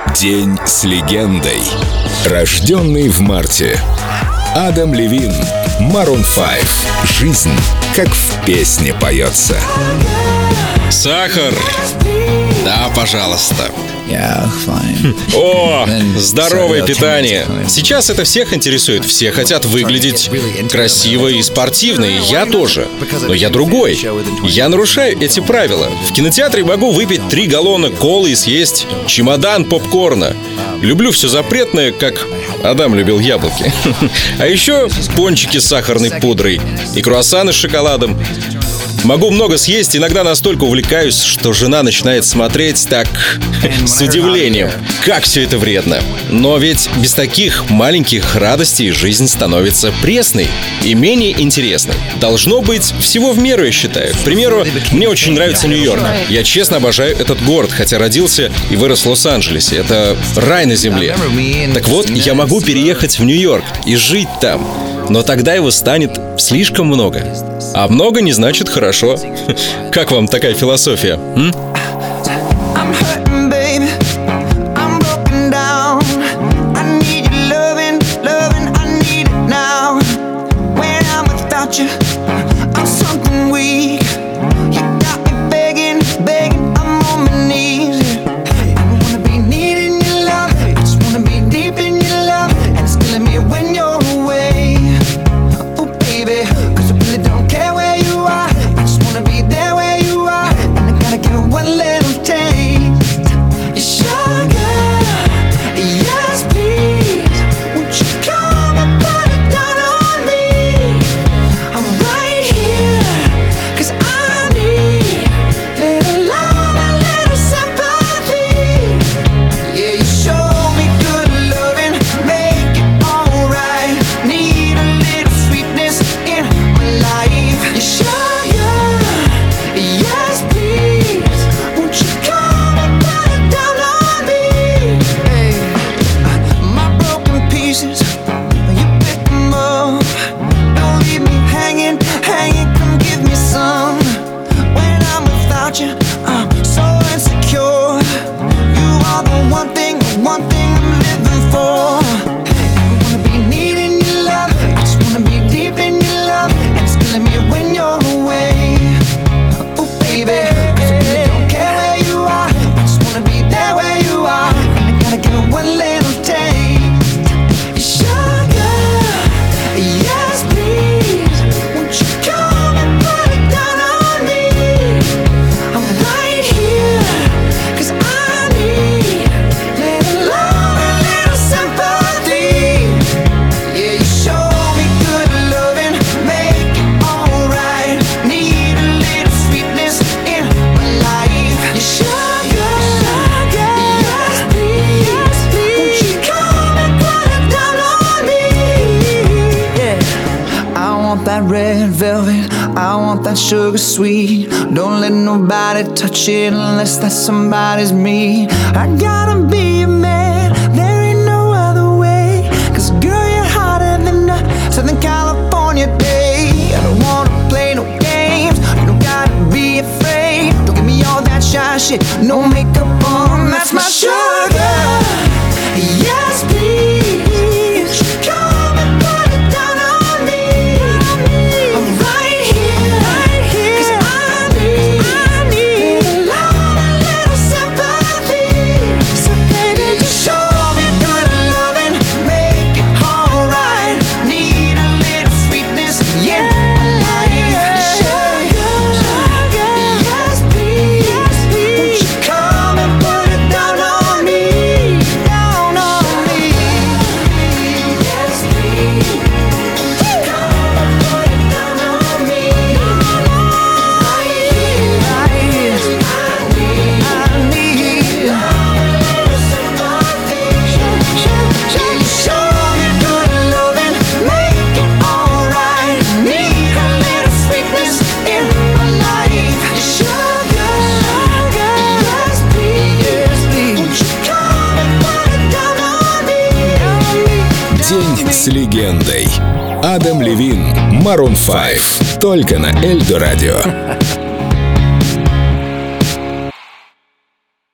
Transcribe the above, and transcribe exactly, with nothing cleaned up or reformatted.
День с легендой. Рожденный в марте. Адам Левин, Maroon пять. Жизнь, как в песне поется. Сахар. Да, пожалуйста. Yeah, fine. О, здоровое питание. Сейчас это всех интересует. Все хотят выглядеть красиво и спортивно, и я тоже. Но я другой. Я нарушаю эти правила. В кинотеатре могу выпить три галлона колы и съесть чемодан попкорна. Люблю все запретное, как Адам любил яблоки. А еще пончики с сахарной пудрой и круассаны с шоколадом. Могу много съесть, иногда настолько увлекаюсь, что жена начинает смотреть так с удивлением. Как все это вредно. Но ведь без таких маленьких радостей жизнь становится пресной и менее интересной. Должно быть всего в меру, я считаю. К примеру, мне очень нравится Нью-Йорк. Я честно обожаю этот город, хотя родился и вырос в Лос-Анджелесе. Это рай на земле. Так вот, я могу переехать в Нью-Йорк и жить там. Но тогда его станет слишком много. А много не значит хорошо. Как вам такая философия? М? That red velvet, I want that sugar sweet. Don't let nobody touch it unless that somebody's me. I gotta be a man, there ain't no other way. Cause girl, you're hotter than a Southern California day. I don't wanna play no games, you don't gotta be afraid. Don't give me all that shy shit, no makeup on, that's my sugar. Yes, please. День с легендой. Адам Левин, Maroon пять. Только на Эльдо Радио.